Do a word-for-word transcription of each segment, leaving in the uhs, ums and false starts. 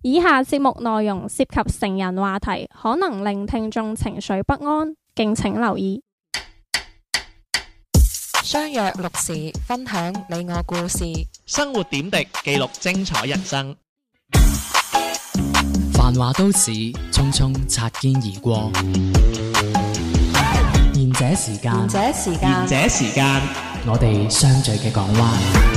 以下節目內容涉及成人話題，可能令聽眾情緒不安，敬請留意。 相約六時，分享你我故事， 生活點滴，記錄精彩人生。 繁華都市，匆匆擦肩而過。賢者時間， 賢者時間， 賢者時間， 我哋相聚嘅港灣。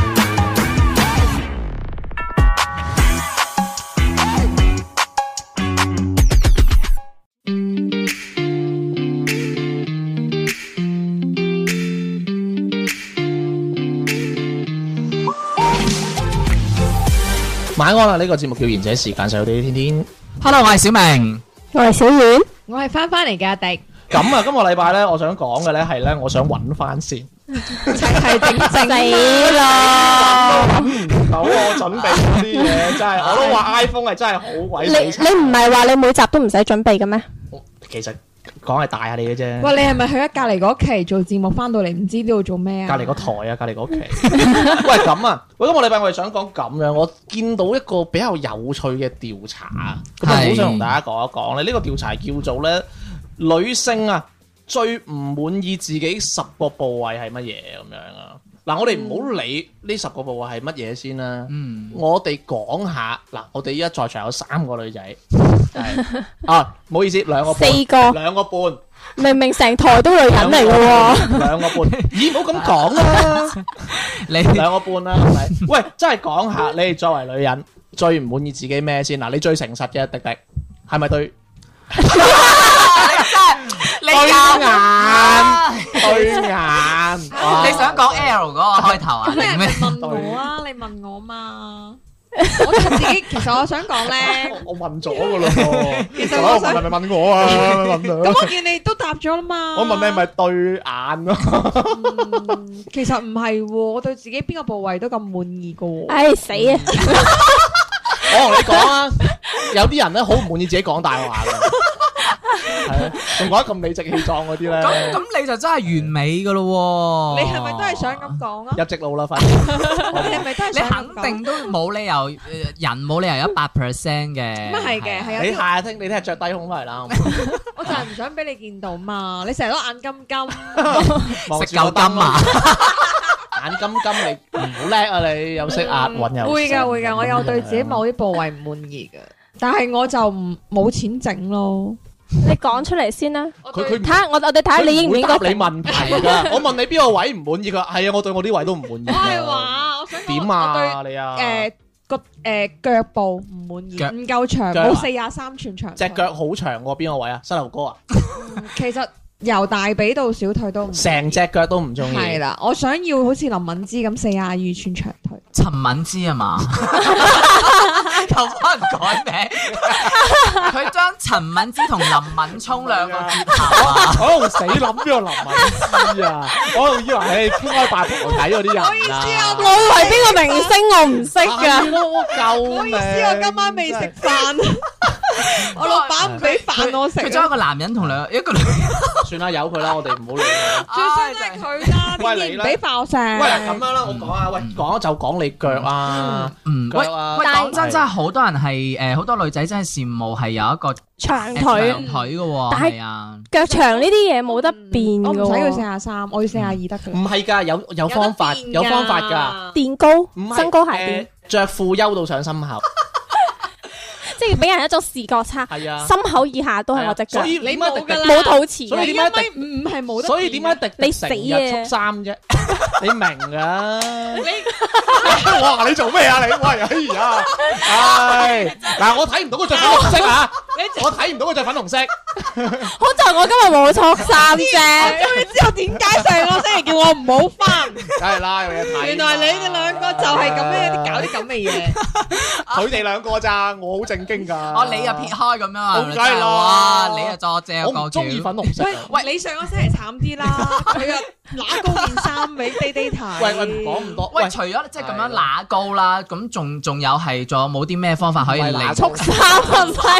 晚安啦！呢個節目叫賢者時間，細佬哋天天。 Hello， 我係小明， 我係小遠， 我係翻翻嚟嘅阿迪。 咁啊，今個禮拜咧，我想講嘅咧係咧，我想揾翻先。 係整整死啦！ 揾唔到我準備嗰啲嘢，真係我都話 iPhone 係真係好鬼死你你唔係話你每集都唔使準備嘅咩？ 其實講係大下你嘅啫。 喂，你係咪去咗隔離嗰期做節目，翻到嚟唔知呢度做咩啊？ 隔離個台啊，隔離嗰期。喂，咁啊，喂，今個禮拜我哋想講咁樣，我見到一個比較有趣嘅調查，咁啊，好想同大家講一講咧。呢個調查叫做咧，女性啊最唔滿意自己十個部位係乜嘢咁樣啊？嗱，我哋唔好理呢十個部位係乜嘢先啦。嗯，我哋講下嗱，我哋依家在場有三個女仔，係啊，唔好意思，兩個半， 四個， 兩個半。 明明成台都女人嚟嘅喎， 兩個半，咦，唔好咁講啦，你兩個半啦，係咪？喂，真係講下，你哋作為女人最唔滿意自己咩先？嗱，你最誠實嘅迪迪係咪對？ 你真係對眼，對眼， 你想講 L 嗰個開頭啊？ 咁你咪問我啊？你問我嘛？我就自己，其實我想講咧， 我問咗噶啦喎， 其實我想係咪問我啊？問咁我見你都答咗啦嘛。 我問你係咪對眼咯？ 嗯，其實唔係喎，我對自己邊個部位都咁滿意噶喎。 唉死啊！ 我同你講啊，有啲人咧好唔滿意自己講大話嘅。係啊，仲講得咁理直氣壯嗰啲咧， 咁咁你就真係完美噶咯喎！ 你係咪都係想咁講啊？ 入直路啦，快啲！ 你係咪都係你想咁講？ 肯定都冇理由，人冇理由一百 percent 嘅。 咁啊係嘅，係有你啲下聽，你聽日着低胸翻嚟啦。 我就係唔想俾你見到嘛，你成日都眼金金， 食夠金啊！ 眼金金你唔好叻啊！你又識押韻又會㗎會㗎，我有對自己某啲部位唔滿意嘅，但係我就唔冇錢整咯。 你講出嚟先啦， 佢佢睇下我我哋睇下你應唔應該答你問題㗎。我問你邊個位唔滿意，佢話係啊，我對我啲位都唔滿意。 我係話，我想點啊你啊？ 誒個誒腳部唔滿意， 腳唔夠長， 腳啊冇四廿三寸長。 隻腳好長喎，邊個位啊？膝頭哥啊？ 其實由大髀到小腿都唔成隻腳都唔中意。 係啦，我想要好似林敏芝咁四廿二寸長腿。 陳敏之啊嘛，又幫人改名，佢將陳敏之同林敏聰兩個結合啊！ 我喺度死諗邊個林敏之啊！我仲以為係傾開八婆睇嗰啲人啊！ 唔好意思啊， 我以為邊個明星我唔識㗎。 救唔好意思，我今晚未食飯，我老闆唔俾飯我食。 佢將一個男人同兩一個女人， 算啦，由佢啦，我哋唔好理啦。 最衰都係佢啦， 喂點解唔俾飯我食？ 喂，咁樣啦，我講啊，喂，講就講你腳啊， 嗯，喂腳啊， 喂， 但係講真真係好多人係誒，好多女仔真係羨慕係有一個長腿長腿嘅喎， 但係係啊， 腳長呢啲嘢冇得變我㗎喎， 唔使要四廿三，我要四廿二得㗎。 唔係㗎，有有方法，有方法㗎， 墊高唔係身高鞋墊， 着褲優到上心口， 即係俾人一種視覺差。 係啊， 心口以下都係我隻腳所，以你點解迪迪冇㗎啦冇肚臍所以嘅。 點解迪唔唔係冇得？ 所以點解迪迪你死啊成日束衫啫？你明㗎？你哇！你做咩啊？你喂，哎呀，唉，嗱，我睇唔到佢着粉紅色啊！我睇唔到佢着粉紅色。 好在我今日冇錯衫啫。 終於知道點解上個星期叫我唔好翻。 梗係啦，有嘢睇。 原來你哋兩個就係咁樣啲搞啲咁嘅嘢。 佢哋兩個咋，我好正經㗎。 哦，你又撇開咁樣啊？ 梗係啦哇，你又作借我個唔中意粉紅色喂啊。 喂，你上個星期慘啲啦，佢啊揦高件衫俾爹爹睇。 喂喂，唔講咁多。 喂，除咗即係咁樣揦高啦，咁仲仲有係仲有冇啲咩方法可以嚟唔係揦束衫啊，唔係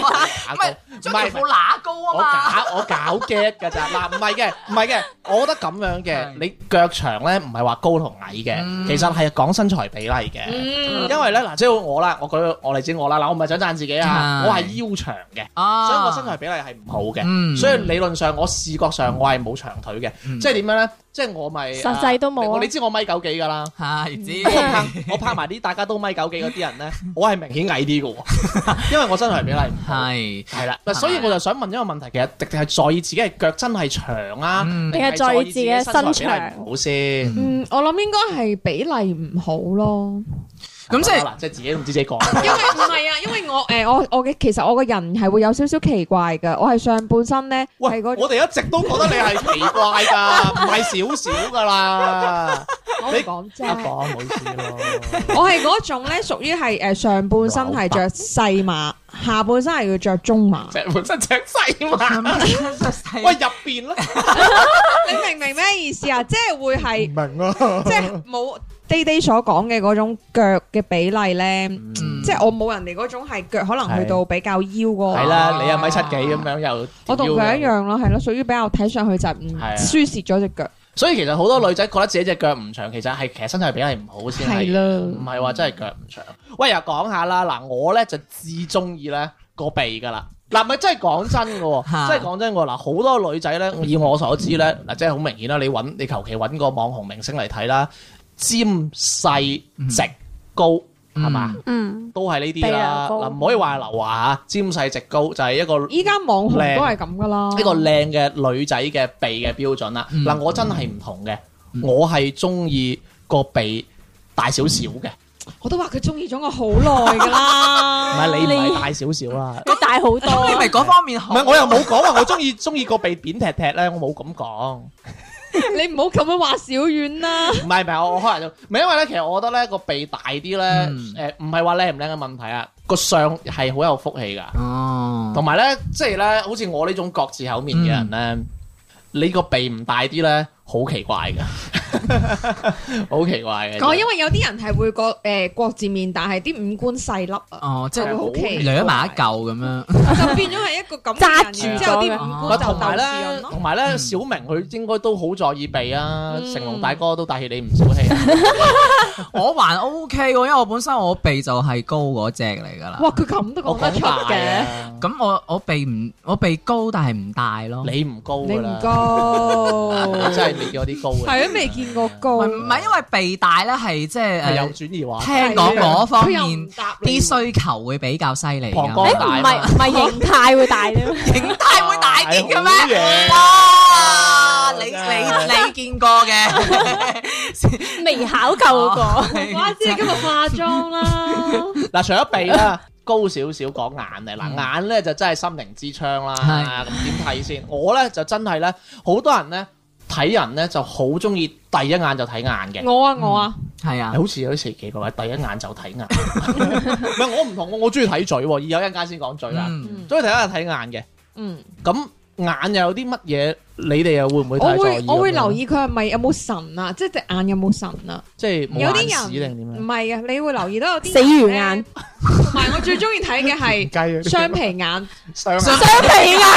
乸高，唔將係條褲乸高我啊嘛。 搞我搞 get 㗎咋嗱，唔係嘅，唔係嘅，我覺得咁樣嘅，你腳長咧唔係話高同矮嘅，其實係講身材比例嘅，因為咧嗱，即係我啦，我舉我嚟知我啦，嗱，我唔係想讚自己啊，我係腰長嘅，所以我身材比例係唔好嘅，所以理論上我視覺上我係冇長腿嘅，即係點樣咧？即係我咪實際都冇啊你知我米九幾㗎啦， 係知。 我拍我拍埋啲大家都米九幾嗰啲人咧，我係明顯矮啲嘅喎，因為我身材比例唔好。 係係啦，嗱，所以我就想問一個問題，其實迪迪係在意自己嘅腳真係長啊， 嗯定係在意自己嘅身長身材比例唔好先？ 嗯，我諗應該係比例唔好咯。 咁即係嗱，即係自己都唔知自己講。 因為唔係啊，因為我誒我我嘅其實我個人係會有少少奇怪㗎，我係上半身咧係喂， 嗰我哋一直都覺得你係奇怪㗎，唔係少少㗎啦。 我你講啫一，講唔好意思咯。 我係嗰種咧屬於係誒上半身係着細碼，下半身係要着中碼。 隻本身隻細嘛，喂入邊咧， 你明唔明咩意思啊？即係會係明啊， 即係冇爹爹所講嘅嗰種腳嘅比例咧，即係我冇人哋嗰種係腳可能去到比較腰嗰個。 係啦，你一米七幾咁樣又， 我同佢一樣咯，係咯，屬於比較睇上去就唔係啊輸蝕咗隻腳。 所以其實好多女仔覺得自己隻腳唔長，其實係其實身材比例唔好先係， 係啦唔係話真係腳唔長。喂，又講下啦，嗱，我咧就至中意咧個鼻噶啦。嗱，咪真係講真嘅喎，真係講真嘅喎。嗱，好多女仔咧，以我所知咧，嗱，即係好明顯啦。你揾你求其揾個網紅明星嚟睇啦，尖細直高係嘛， 嗯， 都係呢啲鼻啦。 啊高嗱，唔可以話劉華嚇，尖細直高就係一個依家網紅都係咁噶啦。 一個靚嘅女仔嘅鼻嘅標準啦。嗱、我真係唔同嘅，我係中意個鼻大少少嘅， 我都話佢中意咗我好耐噶唔啦。 係你唔你係大少少啦。 佢大好多你咪嗰方面好。 唔係我又冇講話我中意中意個鼻扁踢踢咧，我冇咁講。 你唔好咁樣話小遠啦。 唔係唔係，我我可能就唔係因為咧，其實我覺得咧個鼻大啲咧，誒唔係話靚唔靚嘅問題啊，個相係好有福氣㗎。 哦， 同埋咧，即係咧，好似我呢種各自口面嘅人咧，你個鼻唔大啲咧，好奇怪㗎，好奇怪嘅。 哦，因為有啲人係會個誒國字面，但係啲五官細粒啊， 哦，即係就會好奇掠埋一嚿咁樣。 就變咗係一個咁嘅揸人， 住之後啲咗五官就同埋鬥士人咧， 咯。 同埋咧，小明佢應該都好在意鼻啊。 嗯成龍大哥都帶起你唔少氣啊。 我還 OK 喎，因為我本身我鼻就係高嗰只嚟㗎啦。 哇！佢咁都我講得出講大嘅， 啊， 咁我我鼻唔我鼻高，但係唔大咯。 你唔高你唔㗎啦， 高， 真係未見過啲高嘅。 係都未見過高。 唔係唔係因為鼻大咧，係即係係有誒轉移話聽講嗰方佢又面唔答你啲需求會比較犀利㗎。 膀胱誒唔係唔係形態會大啲， 形態會大啲嘅係好咩？ 嘢哇！你真係你你見過嘅？ 未考究嗰個。 哇！知你今日化妝啦， 嗱，除咗鼻啦，高少少講眼咧，嗱眼咧就真係心靈之窗啦。 係咁點睇先？我咧就真係咧，好多人咧睇人咧就好中意第一眼就睇眼嘅。 我啊我啊， 係啊， 好似有啲奇奇怪怪，第一眼就睇眼。唔係我唔同，我我中意睇嘴喎。而有一陣間先講嘴啦， 嗯中意睇一眼睇眼嘅。 嗯， 咁眼又有啲乜嘢？你哋又會唔會我太在意？ 會我會留，意佢係咪有冇神啊，即係隻眼有冇神啊？ 即係冇有啲眼屎定點樣？ 人唔係嘅，你會留意到有啲死魚人眼呢，同埋我最中意睇嘅係雞雙皮眼。 雙雙雙皮眼，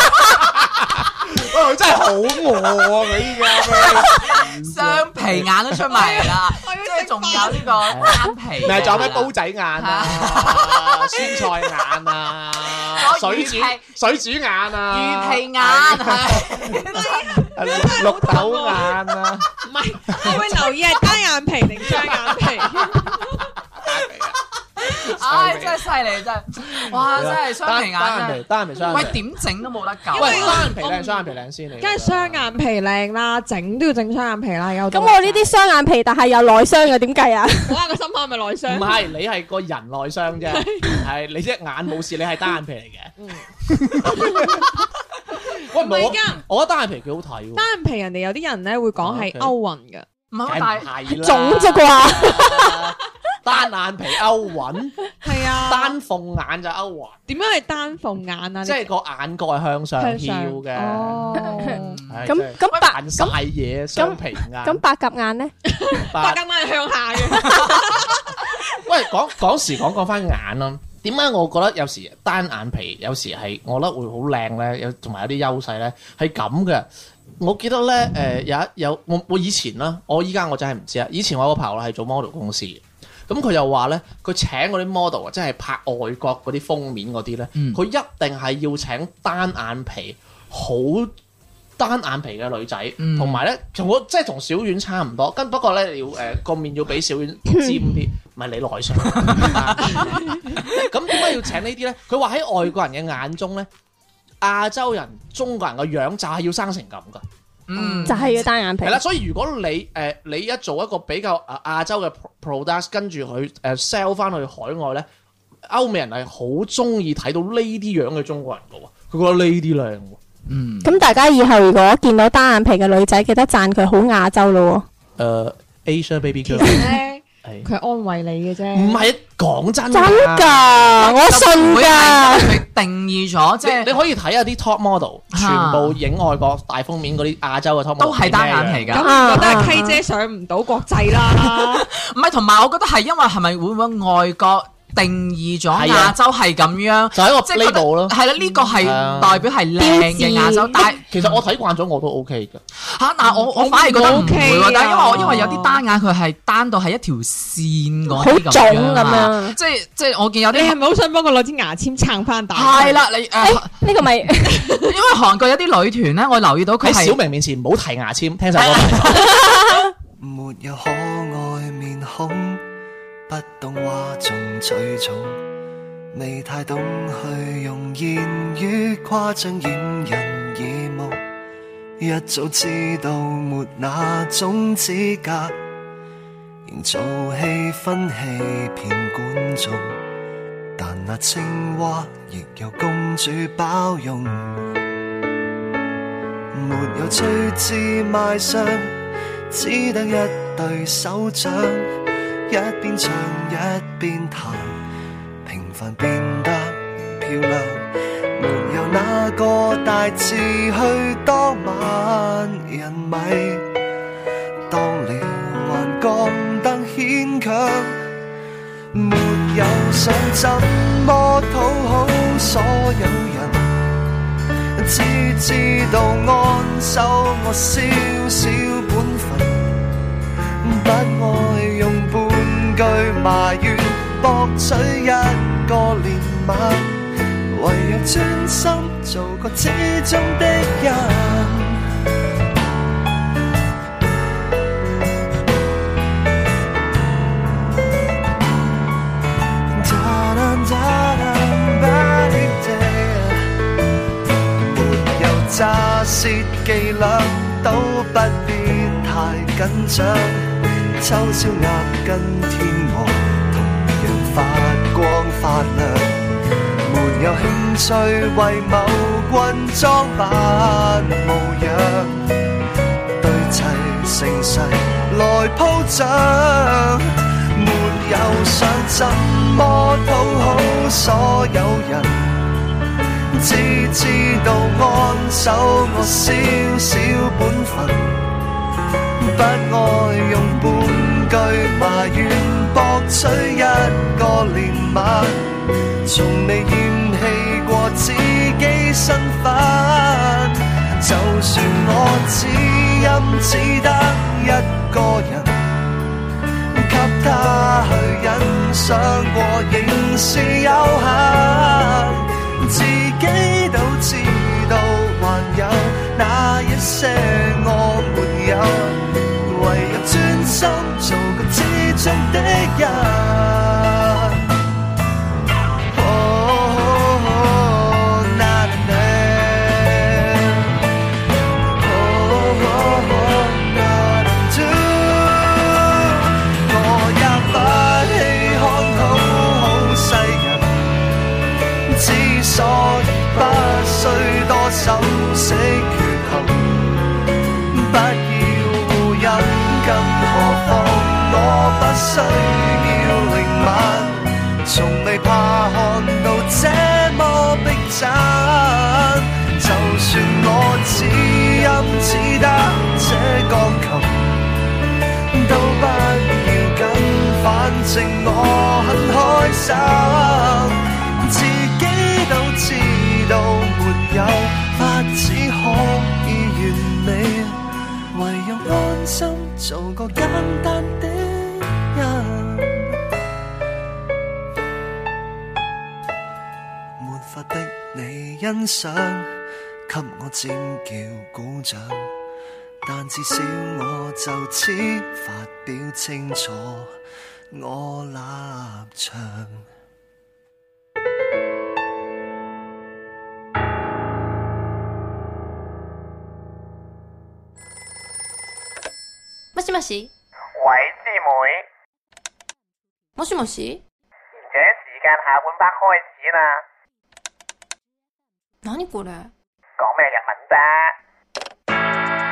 喂，佢真係好餓啊！佢依家雙皮眼都出埋嚟啦，即係仲有呢個單皮。 咪仲有咩煲仔眼啊、酸菜眼啊、水煮水煮眼啊、 魚皮眼係綠豆眼啊， 唔係，我會留意係單眼皮定雙眼皮。 唉，真係犀利真係，哇！真係雙皮眼單眼皮， 真係， 單眼皮雙喂眼皮。 點整都冇得救。 喂， 因為單眼皮靚，雙眼皮靚先嚟。 梗係雙眼皮靚啦，整都要整雙眼皮啦。有咁我呢啲雙眼皮，但係有內傷嘅，點計啊？ 我話個心口係咪內唔傷？ 係，你係個人內傷啫，係你隻眼冇事，你係單眼皮嚟嘅。喂， 唔係我㗎我覺得單眼皮幾好睇喎。 單眼皮人哋有啲人咧會講係勾暈嘅， 唔係， 梗但係唔係啦， 腫啫啩？ 單眼皮勾暈， 係啊。 單鳳眼就勾暈， 點樣係單鳳眼啊？ 即係個眼角係向上向上翹嘅。 哦， 咁唉真係咁白扮晒嘢，雙皮眼。 咁白鴿眼咧？ 白白鴿眼係向下嘅。 喂，講講時講講翻眼啦。 點解我覺得有時單眼皮有時係我覺得會好靚咧，有同埋有啲優勢咧，係咁嘅。我記得咧，誒、呃、有一有我我以前啦，我依家我真係唔知啊。以前我有個朋友係做 model 公司嘅，咁佢又話咧，佢請嗰啲 model 啊，即係拍外國嗰啲封面嗰啲咧，佢、嗯、一定係要請單眼皮好單眼皮嘅女仔，同埋咧同我即係同小丸差唔多，跟不過咧你要誒個、呃、面要比小丸尖啲，唔係你內傷。咁點解要請呢啲咧？佢話喺外國人嘅眼中咧。亞洲人、中國人個樣就係要生成咁噶， 嗯，就係要單眼皮。 係啦，所以如果你誒、呃、你一做一個比較誒亞洲嘅 product， 跟住佢誒 sell 翻去海外咧，歐美人係好中意睇到呢啲樣嘅中國人噶喎，佢覺得呢啲靚喎。嗯，咁大家以後如果見到單眼皮嘅女仔，記得讚佢好亞洲咯喎。 誒 Asia baby girl。 佢安慰你嘅啫， 唔係講真真㗎，我信㗎。 佢定義咗，即係你可以睇下啲 top model，全部影外國大封面嗰啲亞洲嘅 top model 都係單眼皮㗎。 咁覺得係 K 姐上唔到國際啦。 唔係，同埋我覺得係因為係咪會唔會外國定義咗亞洲係咁樣， 就係一個 label 咯。 係啦，呢個係代表係靚嘅亞洲，但係其實我睇慣咗我都 OK 嘅嚇。但係我我反而覺得唔會喎，但係因為我因為有啲單眼佢係單到係一條線嗰啲咁樣啊，即係即係我見有啲你係咪好想幫佢攞支牙籤撐翻大？ 係啦，你誒呢個咪因為韓國有啲女團咧，我留意到佢喺小明面前唔好提牙籤，聽首歌。 沒有可愛面孔，不懂嘩眾取寵，未太懂去用言語誇張掩人耳目，一早知道沒那種資格營造氣氛欺騙觀眾，但那青蛙亦有公主包容，沒有趣致賣相，只得一對手掌，一邊唱一邊彈，平凡變得漂亮，沒有那個大志去當萬人迷，當了還覺得牽強，沒有想怎麼討好所有人，只知道安守我小小本分，不愛用半句埋怨博取一個憐憫，唯有專心做個之中的人。沒有詐舌伎倆，都不必太緊張。秋宵鴨跟天鵝同樣發光發亮，沒有興趣為某君裝扮模樣，對齊盛世來鋪張，沒有想怎麼討好所有人，只知道安守我小小本分，不愛用半句埋怨博取一個憐憫，從未嫌棄過自己身份，就算我只因只得一個人，給他去欣賞過仍是有限，自己都知道還有那一些我沒有，唯有專心做個之中的人。所以不需多修飾缺陷，不要護蔭，更何況我不需要靈敏，從未怕看到這麼逼真，就算我只音只得這鋼琴，都不要緊，反正我很開心。 法的你欣賞，給我尖叫鼓掌，但至少我就此發表清楚我立場。 もしもし。 喂，師妹。 もしもし。 賢者時間下半 part 開始啦。 何これ？ 講咩日文啫？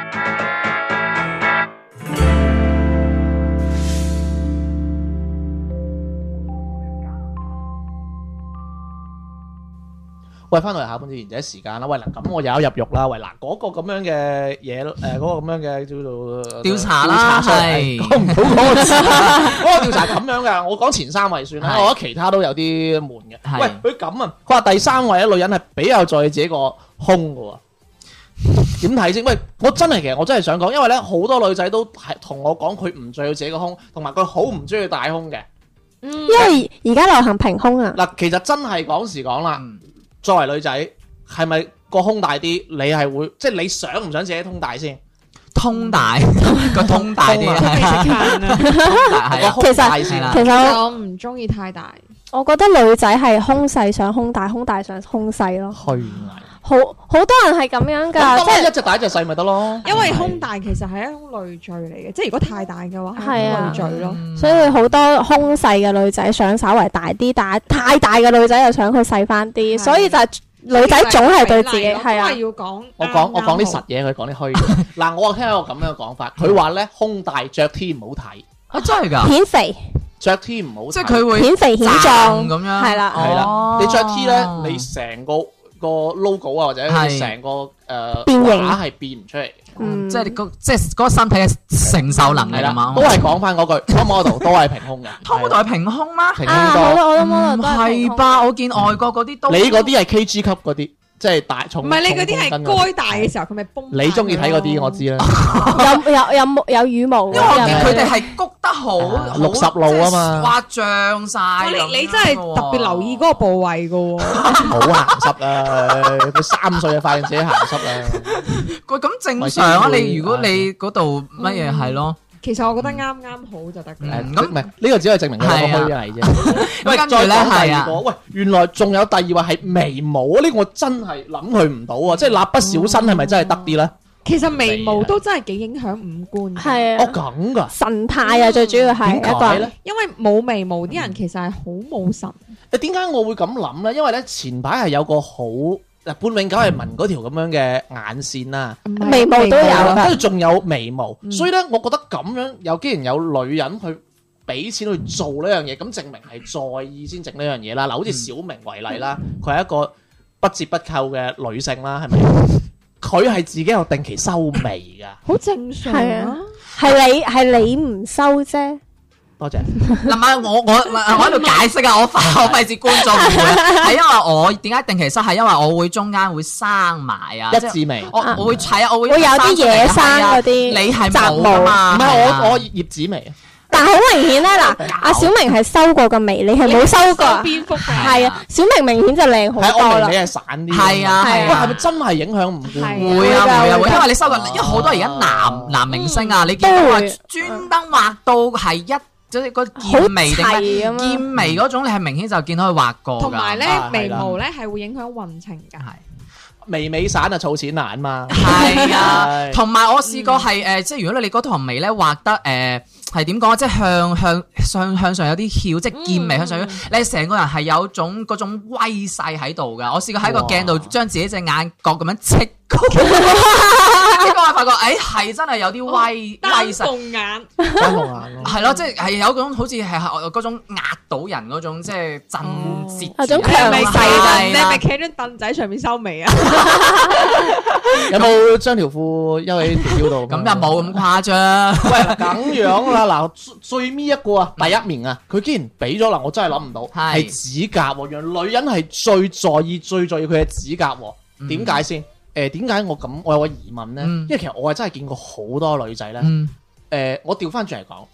喂，翻到嚟下半節賢者時間啦。喂，嗱，咁我有入獄啦。喂，嗱，嗰個咁樣嘅嘢，誒，嗰個咁樣嘅叫做調查啦，係講唔到嗰個字。嗰個調查咁樣嘅，我講前三位算啦。我覺得其他都有啲悶嘅。喂，佢咁啊，佢話第三位咧，女人係比較在意自己個胸嘅喎。點睇先？喂，我真係其實我真係想講，因為咧好多女仔都係同我講佢唔在意自己個胸，同埋佢好唔中意大胸嘅。 因為而家流行平胸啊。 嗱，其實真係講時講啦。作為女仔，係咪個胸大啲？你係會即係你想唔想自己胸大先？ 通大個通大啲啊！ 其實其實我唔中意太大。 我覺得女仔係胸細想胸大，胸大想胸細咯。 虛偽。 好好多人係咁樣㗎， 即係一隻大一隻細咪得咯。 因為胸大其實係一種累贅嚟嘅，即係如果太大嘅話係累贅咯。 所以好多胸細嘅女仔想稍微大啲，但係太大嘅女仔又想佢細翻啲，所以就係女仔總係對自己係啊。 要講我講我講啲實嘢，佢講啲虛嘅。嗱，我聽一個咁樣嘅講法，佢話咧胸大着 T 唔好睇。 啊，真係㗎？ 顯肥。 着 T 唔好睇。 即係佢會顯肥顯壯咁樣。 係啦係啦，你着 T 咧，你成個個 logo 啊，或者成個誒畫係變唔出嚟， 嗯， 即係個即係嗰個身體嘅承受能力啊嘛， 都係講翻嗰句 top model 都係平胸嘅 ，top model 係平胸咩？ 平胸多， 我我都 model 唔都係平胸係吧？我見外國嗰啲都， 你嗰啲係 K G 級嗰啲，即係大重， 唔係你嗰啲係該大嘅時候佢咪崩。 你中意睇嗰啲我知啦， 有有有毛有羽毛， 因為我見佢哋係谷得好六十路啊嘛， 哇脹晒， 你你真係特別留意嗰個部位噶喎， 好鹹濕啊！佢三歲就發現自己鹹濕啦。 喂，咁正常啊！你如果你嗰度乜嘢係咯？ 其實我覺得啱啱好就得㗎啦。 咁唔係呢個只係證明佢係個虛偽啫。喂， 跟住咧係啊， 喂，原來仲有第二位係眉毛啊！呢個我真係諗佢唔到啊！即係蠟筆小新係咪真係得啲咧？ 其實眉毛都真係幾影響五官。 係啊。 哦咁㗎。 神態啊，最主要係一個咧， 因為冇眉毛啲人其實係好冇神。 誒點解我會咁諗咧？因為咧前排係有個好。嗱，半永久係紋嗰條咁樣嘅眼線啦， 眉毛都有， 跟住仲有眉毛，所以咧，我覺得咁樣有既然有女人去俾錢去做呢樣嘢，咁證明係在意先整呢樣嘢啦。嗱，好似小明為例啦，佢係一個不折不扣嘅女性啦，係咪？佢係自己有定期修眉㗎， 好正常啊。 係你係你唔收啫。 多謝。 嗱，唔係我我我喺度解釋啊，我費我費事觀眾誤會，係因為我點解定期收係因為我會中間會生埋啊， 一字眉， 我我會睇啊，我會會有啲野生嗰啲， 你係冇㗎嘛？ 唔係我我葉子眉。 但係好明顯咧，嗱，阿小明係收過個眉，你係冇收過。 蝙蝠係啊，小明明顯就靚好多啦。 係我明你係散啲。 係啊係啊。 喂，係咪真係影響五官？ 會啊會啊會，因為你收過，因為好多而家男男明星啊，你見到話專登畫到係一。即係個劍眉定係劍眉嗰種，你係明顯就見到佢畫過㗎。 同埋咧，眉毛咧係會影響運程㗎。係眉尾散啊，儲錢難嘛。 係啊，同埋我試過係誒，即係如果你嗰條眉咧畫得誒係點講？即係向向向向上有啲翹，即係劍眉向上，你成個人係有種嗰種威勢喺度㗎。我試過喺個鏡度將自己隻眼角咁樣戚高。結果我發覺，誒係真係有啲威威勢， 單鳳眼， 單鳳眼咯， 係咯，即係係有種好似係嗰種壓到人嗰種，即係震懾， 嗰種強勢。 你係咪企喺張凳仔上面收眉啊？ 有冇將條褲休喺條腰度？ 咁又冇咁誇張。 喂，咁樣啦，嗱，最尾一個啊，第一名啊，佢竟然俾咗啦，我真係諗唔到，係指甲喎，原來女人係最在意、最在意佢嘅指甲喎，點解先？誒點解我咁？我有個疑問咧，因為其實我係真係見過好多女仔咧。誒，我調翻轉嚟講，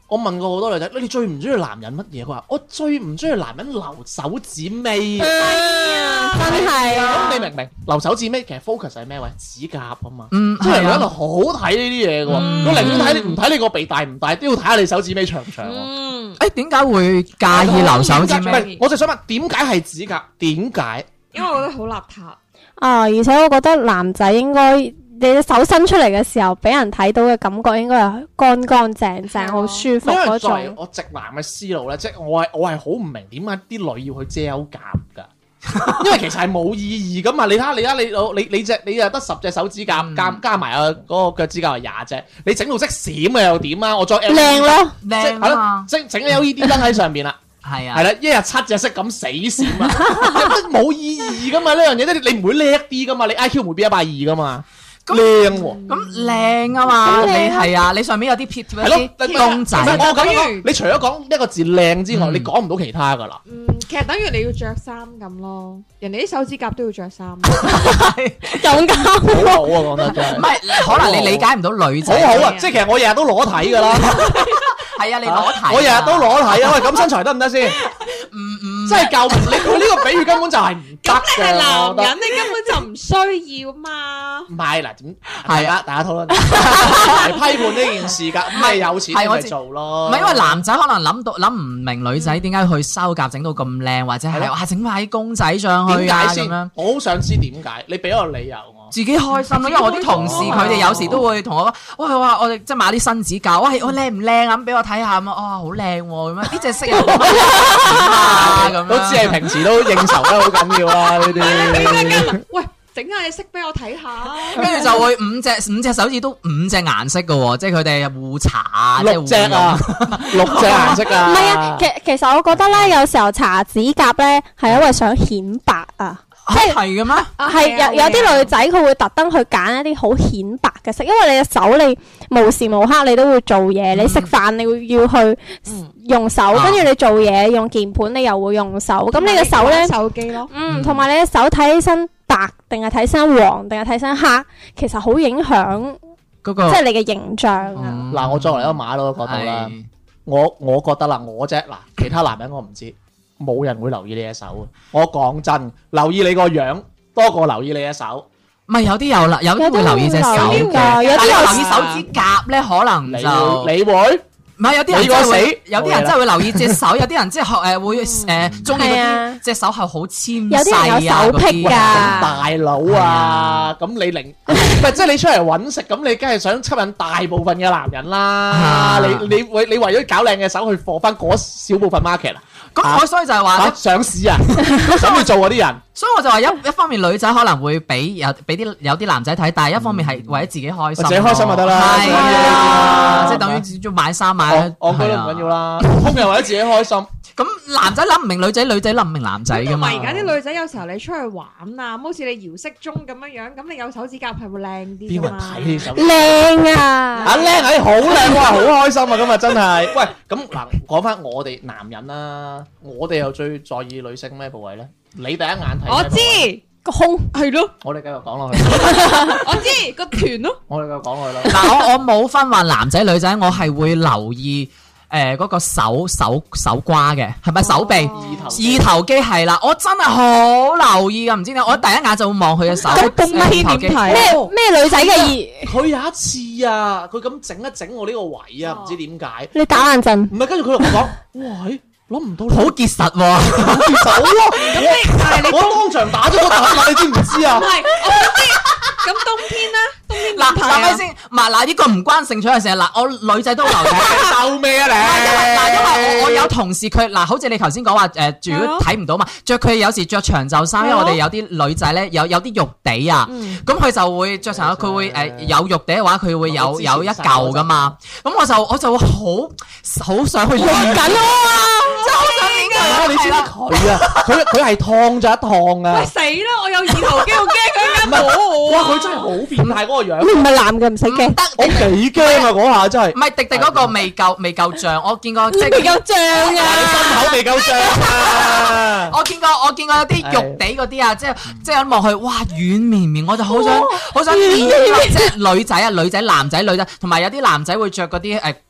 我問過好多女仔，你最唔中意男人乜嘢？佢話我最唔中意男人留手指尾。 真係啊！ 咁你明唔明？留手指尾其實 focus 係咩位？指甲啊嘛。 嗯， 即係係啊喺度好睇呢啲嘢嘅喎。我寧願睇你唔睇你個鼻大唔大，都要睇下你手指尾長唔長喎。 嗯， 誒點解會介意留手指尾？ 唔係，我就想問點解係指甲？點解？ 因為我覺得好邋遢。 啊，而且我覺得男仔應該你隻手伸出嚟嘅時候，俾人睇到嘅感覺應該係乾乾淨淨、好舒服嗰因為作為種。 我直男嘅思路咧，即係我係我係好唔明點解啲女要去遮甲㗎。因為其實係冇意義噶嘛，你睇下你睇你你你隻你又得十隻手指甲，加加埋啊嗰個腳趾甲係廿隻，你整到識閃嘅又點啊？我再靚咯， 即係係咯，整整 L E D 燈喺上邊啦， 係啊， 係啦，一日七隻色咁死閃啊，冇意義噶嘛呢樣嘢，即係你唔會叻啲噶嘛，你 I Q 唔會變一百二噶嘛。靚喎， 咁靚啊嘛，你係啊，你上面有啲貼貼一啲公仔。 唔係我咁講，你除咗講一個字靚之外，你講唔到其他噶啦。 嗯，其實等於你要着衫咁咯，人哋啲手指甲都要着衫。 咁啱， 好好啊，講得真係。 唔係，可能你理解唔到女仔。 好好啊，即係其實我日日都裸體噶啦。 係啊，你裸體。 我日日都裸體啊，喂，咁身材得唔得先？唔唔，真係救唔你，佢呢個比喻根本就係唔得嘅。 你係男人，你根本就唔需要嘛。 唔係嗱，點係啊？大家討論嚟批判呢件事㗎，唔係有錢咪做咯。 唔係因為男仔可能諗到諗唔明女仔點解去修甲整到咁靚，或者係哇整埋啲公仔上去啊咁樣。 我好想知點解，你俾個理由我。 自己開心咯，因為我啲同事佢哋有時都會同我講，喂哇，我哋即係買啲新指甲，喂我靚唔靚啊？咁俾我睇下咁啊，哦好靚喎咁樣，呢隻色又咁樣， 都知係平時都應酬得好緊要啦呢啲。 喂，整下你色俾我睇下， 跟住就會五隻五隻手指都五隻顏色嘅喎，即係佢哋互搽啊， 六隻啊，六隻顏色啊。 唔係啊，其其實我覺得咧，有時候搽指甲咧係因為想顯白啊。 即係係嘅咩？ 係有有啲女仔佢會特登去揀一啲好顯白嘅色，因為你嘅手你無時無刻你都會做嘢，你食飯你會要去用手，跟住你做嘢用鍵盤你又會用手，咁你嘅手咧手機咯， 嗯，同埋你嘅手睇起身白定係睇起身黃定係睇起身黑，其實好影響嗰個即係你嘅形象啊。 嗱，我作為一個馬佬嘅角度啦，我我覺得啦，我啫嗱，其他男人我唔知。冇人會留意你隻手啊！我講真，留意你個樣多過留意你隻手。 唔係有啲有啦，有啲會留意隻手嘅， 但係有啲留意手指甲咧，可能你就你會唔係有啲人你個死真係會，有啲人真係會留意隻手，有啲人即係學誒會誒中意嗰係啊啲隻手係好纖有啲人有細啊手癖㗎嗰啲。 大佬啊！咁你零唔係即係你出嚟揾食，咁你梗係想吸引大部分嘅男人啦。 啊你你為你為咗搞靚嘅手去貨翻嗰少部分 market 啊？ 咁我所以就係話嚇上市啊！想去做嗰啲人。 所以我就話一一方面女仔可能會俾有俾啲有啲男仔睇，但係一方面係為咗自己開心， 自己開心就得啦係啊，即係等於只做買衫買， 我覺得唔緊要啦，通常為咗自己開心。 咁男仔諗唔明女仔，女仔諗唔明男仔噶嘛。 同埋而家啲女仔有時候你出去玩啊，好似你搖骰盅咁樣樣，咁你有手指甲係會靚啲邊個人㗎嘛。 睇呢手？ 靚啊！ 啊靚係好靚哇，好開心啊！今日真係。喂，咁嗱，講翻我哋男人啦，我哋又最在意女性咩部位咧？你第一眼睇咩部位？ 我知個胸係咯， 我哋繼續講落去。 我知個團咯。 我哋繼續講落去啦。 嗱，我我冇分話男仔女仔，我係會留意誒嗰個手手手瓜嘅，係咪手臂？二頭肌係啦，我真係好留意噶，唔知點解，我第一眼就會望佢嘅手。 咁咁二頭肌咩咩女仔嘅二？ 佢有一次啊，佢咁整一整我呢個位啊，唔知點解。 你打冷震？ 唔係，跟住佢同我講：喂，諗唔到你好結實喎， 好結實好咯。我我當場打咗個突啦，你知唔知啊唔？係，我想知。咁冬天咧，冬天嗱， 點睇啊嗱咪先，唔係嗱呢個唔關性取向事，嗱我女仔都留意。 鬥咩啊嗱，因為你？ 我我有同事佢嗱，好似你頭先講話誒，如果睇唔到嘛，着佢有時着長袖衫，因為我哋有啲女仔咧有有啲肉地啊，咁佢就會着長袖，佢會誒有肉地嘅話，佢會有有一嚿噶嘛，咁我就我就會好好想去用緊啊，真係好想影佢。 你知唔知佢啊？佢佢係燙咗一燙啊喂！死啦！我有二頭肌，我驚佢唔係啱摸我哇！ 啊！ 佢真係好變態嗰個樣， 你唔係男嘅唔使驚。 我幾驚啊！嗰下真係唔。係迪迪嗰個未夠未夠脹，我見過即係未夠脹哇！你心口未夠脹啊！ 我見過我見過有啲肉地嗰啲啊，即係即係一望去，哇軟綿綿，我就好想好想掂啊！即係女仔啊，女仔男仔女仔，同埋有啲男仔會着嗰啲誒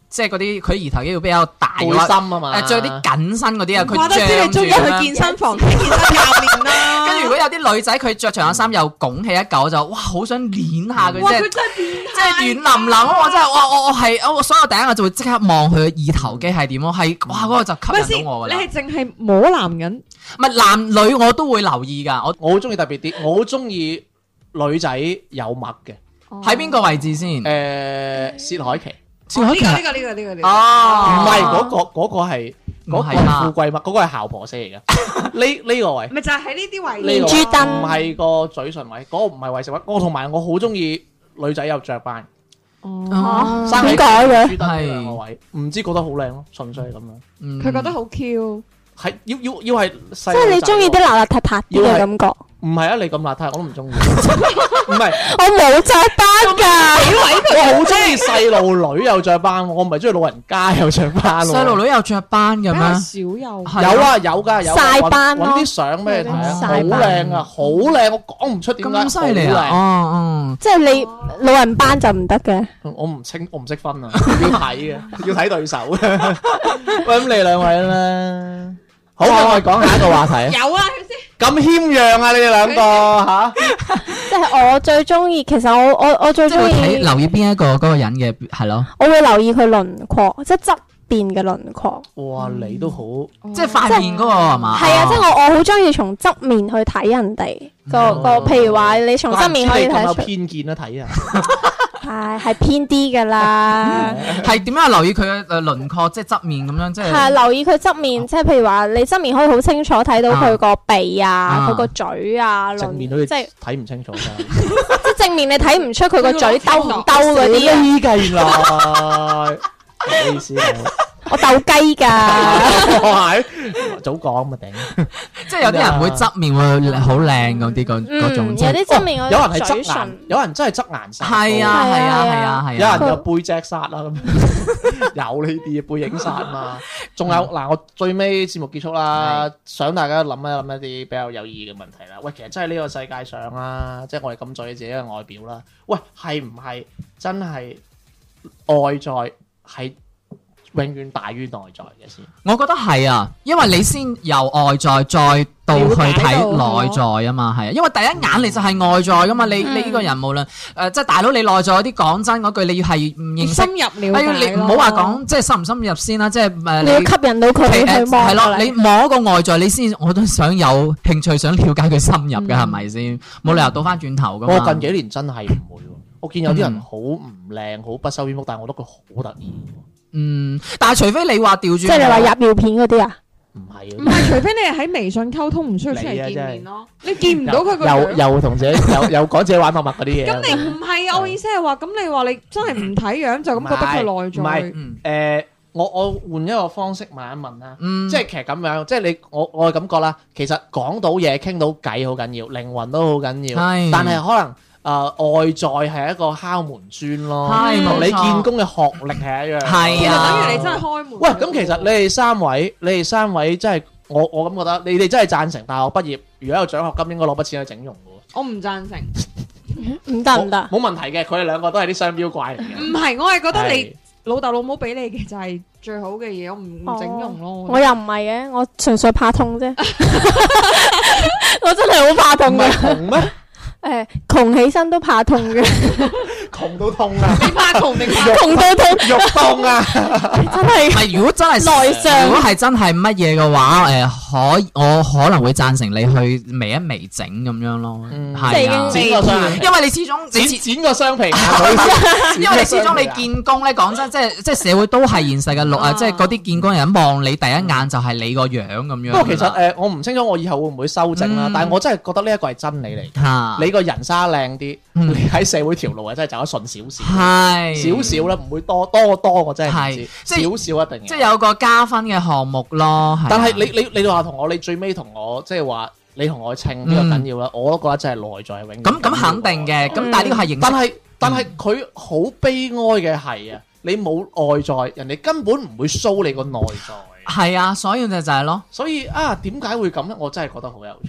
即係嗰啲佢兒頭肌會比較大背嘅話， 心啊嘛， 誒着啲緊身嗰啲啊，佢怪得知你中意脹住啦去健身房睇健身教練啦。 跟住如果有啲女仔佢着長袖衫又拱起一嚿就哇好想捏下佢哇， 啫佢。真係變態即係軟腍腍啊！我真係哇！我我係我所有第一我就會即刻望佢嘅二頭肌係點咯，係哇嗰個就咪先， 吸引到我㗎啦。 你係淨係摸男人， 唔係男女我都會留意㗎。我我好中意特別啲，我好中意女仔有麥嘅。 喺邊個位置先？ 誒，薛凱琪薛凱琪呢個呢個呢個呢個呢個哦， 唔係嗰個嗰個係嗰個唔係嘛富貴麥，嗰個係姣婆色嚟嘅。呢呢個位。 咪就係喺呢啲位呢個連珠燈唔係個嘴唇位，嗰、個唔係為食位。我同埋我好中意女仔有雀斑， 哦生喺點解嘅珠燈呢兩個位，唔知覺得好靚咯，純粹係咁樣。 嗯佢覺得好 Q。 係要要要係細即係你中意啲邋邋遢遢啲嘅感覺。 唔係啊，你咁邋遢我都唔中意。唔係， 我冇雀斑㗎， 我好中意細路女有雀斑，我唔係中意老人家有雀斑喎。 細路女有雀斑嘅比較咩？ 少有。 係有啊有㗎有㗎。 曬斑咯揾啲相俾你睇啊，好曬斑靚啊，好靚，我講唔出點解咁犀利啊！ 好哦即係你老人斑就唔得嘅。 靚我唔清，我唔識分啊，要睇嘅，要睇對手嘅。喂，咁你兩位咧？好，我哋講下一個話題啊。 有啊，佢先。 咁謙讓啊，你哋兩個吓？ 即係我最中意，其實我我我最即係會中意， 睇留意邊一個嗰個人嘅係咯， 我會留意佢輪廓，即係側邊嘅輪廓。 哇，你都好， 即係塊面嗰個係嘛？ 係啊，即係哦我我好中意從側面去睇人哋個個，譬如話你從側面可以怪唔知你咁有睇得出， 偏見啦，睇啊。 係係偏啲㗎啦。 係點樣留意佢嘅誒輪廓，即係側面咁樣，即係係留意佢側面，即係譬如話你側面可以好清楚睇到佢個鼻啊、 啊佢個嘴啊， 正面好似即係睇唔清楚㗎。 即係正面你睇唔出佢個嘴兜唔兜嗰啲啊。 呢計原來，唔好意思啊， 我鬥雞㗎， 我係早講咪頂。 即係有啲人會側面會好靚嗰啲嗰嗰種， 嗯， 即係有啲側面有人係嗰嘴側顏唇，， 有人真係側顏殺。 係啊係啊係啊係有啊， 人有背脊殺啦，咁有呢啲背影殺嘛。仲有嗱，我最尾節目結束啦，想大家諗一諗一啲比較有意義嘅問題啦。喂，其實真係呢個世界上啦，即係我哋咁在意自己嘅外表啦。喂，係唔係真係外在係永遠大於內在嘅先？ 我覺得係啊，因為你先由外在再到去睇內在啊嘛，係啊，因為第一眼你就係外在噶嘛，你你呢個人無論誒即係大佬你內在嗰啲講真嗰句，你要係唔認識深。入了哎呀， 解咯你唔好話講即係深唔深入先啦，即係誒你要吸引到佢誒去望係咯， 過嚟你摸個外在，你先我都想有興趣，想了解佢深入嘅係咪先？冇理由倒翻轉頭噶嘛。 我近幾年真係唔會喎，我見有啲人好唔靚，好不修邊幅，但係我覺得佢好得意喎。 嗯，但係除非你話調轉， 即係你話入尿片嗰啲啊？ 唔係唔係，除非你係喺微信溝通，唔需要出嚟見面咯。你見唔到佢個又樣。 又同自己又又講自己玩默默嗰啲嘢。 咁你唔係啊？我意思係話，咁你話你真係唔睇樣就咁覺得佢內唔係在。 嗯誒，我我換一個方式問一問啦。 嗯， 即係其實咁樣，即係你我我嘅感覺啦。其實講到嘢、傾到偈好緊要，靈魂都好緊要。 係但係可能誒、呃、外在係一個敲門磚咯， 係同你冇錯見工嘅學歷係一樣。 係其實啊等於你真係開門。 喂，咁其實你哋三位，你哋三位真係我我咁覺得，你哋真係贊成大學畢業，如果有獎學金，應該攞筆錢去整容嘅喎。 我唔贊成。 唔得唔得， 冇問題嘅，佢哋兩個都係啲商標怪嚟嘅。 唔係，我係覺得你係老豆老母俾你嘅就係最好嘅嘢，我唔唔整容咯。 我又唔係嘅，我純粹怕痛啫。我真係好怕唔痛嘅係，窮咩？ 誒，窮起身都怕痛嘅， 窮到痛啊！ 你怕窮定怕窮到痛， 肉痛啊！ 真係唔係，如果真係內傷如果係真係乜嘢嘅話，誒、可我可能會贊成你去微一微整咁樣咯， 嗯係啊， 即係已經剪個雙眼皮， 因為你始終你剪始剪個雙皮，唔好意思因為你始終你見工咧，講真，即係即係社會都係現實嘅路啊， 啊即係嗰啲見工人望你第一眼就係你個樣咁樣。 不過其實誒，我唔清楚我以後會唔會修正啦嗯， 但係我真係覺得呢一個係真理嚟。 嚇你個人生靚啲， 嗯你喺社會條路啊，真係走得順少少， 係少少啦，唔會多多多，我真係唔係知， 即係少少一定即係有個加分嘅項目咯。係啊但係你你你話同我，你最尾同我即係話你同我稱呢個緊要啦，我都覺得真係內在係永遠咁咁肯定嘅，咁但係呢個係形式。 但係但係佢好悲哀嘅係啊，你冇外在，人哋根本唔會 show 你個內在， 係啊，所以就就係咯。 所以啊，點解會咁咧？我真係覺得好有趣。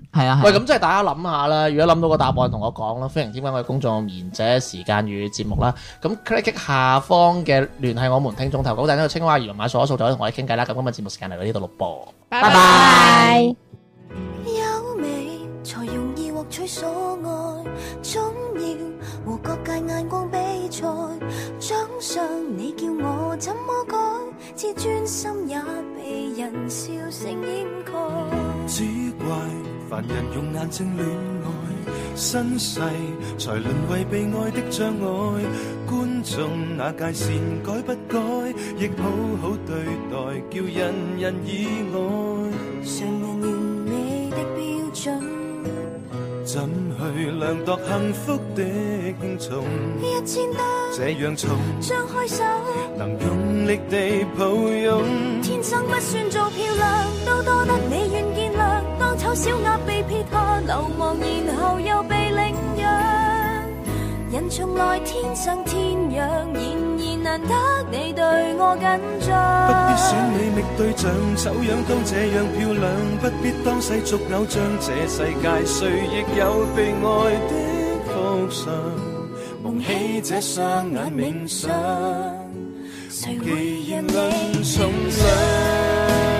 係啊， 喂，咁即係大家諗下啦，如果諗到個答案同我講啦，歡迎添加我哋公眾號賢者時間與節目啦。咁 click 下方嘅聯繫我們聽眾投稿，等呢個青蛙魚買數一數就可以同我哋傾偈啦。咁今日節目時間嚟到呢度錄播， 拜拜拜。 拜。 優美才容易獲取所愛，總要和各界眼光比賽。獎賞你叫我怎麼改？自尊心也被人笑聲掩蓋。 只怪凡人用眼睛戀愛，身世才淪為被愛的障礙。觀眾那界線改不改，亦好好對待，叫人人意外。 常人完美的標準， 怎去量度幸福的輕重？ 一千多這樣重， 張開手， 能用力地抱擁。 天生不算做漂亮，都多得你願見諒。當醜小鴨被撇下流亡，然後又被領養。人從來天生天養，然而難得你對我緊張。 不必選美覓對象，醜樣都這樣漂亮，不必當世俗偶像。這世界誰亦有被愛的福相，蒙起這雙眼冥想， 誰會讓你重量。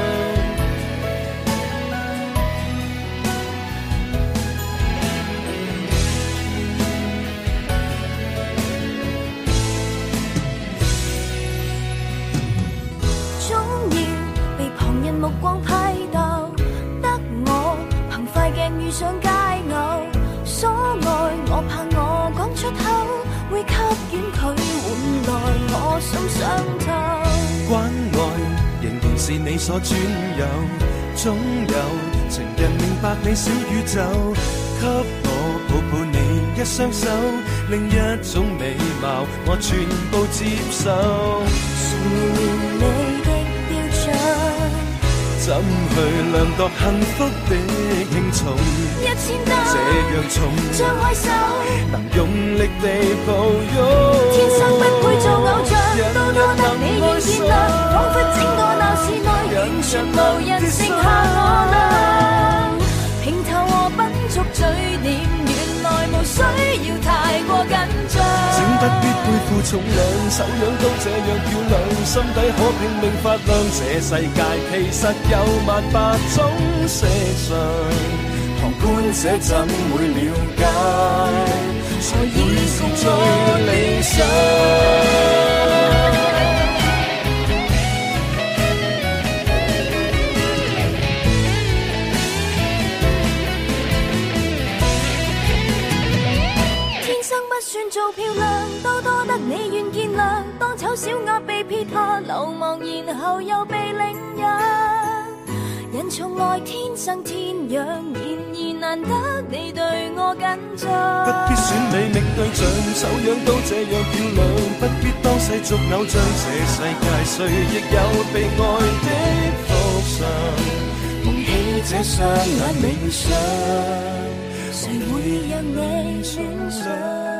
目光批鬥，得我憑快鏡遇上佳偶，所愛我怕我講出口，會給遠距換來我心傷透。 關愛仍然是你所專有，總有情人明白你小宇宙，給我抱抱你一雙手，另一種美貌我全部接受。 你的標準怎去量度幸福的輕重？ 一千多這樣重， 張開手， 能用力地抱擁。 天生不配做偶像，都多得你願見諒。彷彿整個鬧市內完全無人剩下我倆。平頭和笨拙嘴臉，原來無需要太過緊張。 請不必背負重量，醜樣都這樣漂亮，心底可拼命發亮。這世界其實有萬百種色相，旁觀者怎會了解？才會是最理想。 算做漂亮，都多得你願見諒。當醜小鴨被撇下流亡，然後又被領養。人從來天生天養，然而難得你對我緊張。 不必選美覓對象，醜樣都這樣漂亮，不必當世俗偶像。這世界誰亦有被愛的福相，蒙起這雙眼冥想， 誰會讓你選上？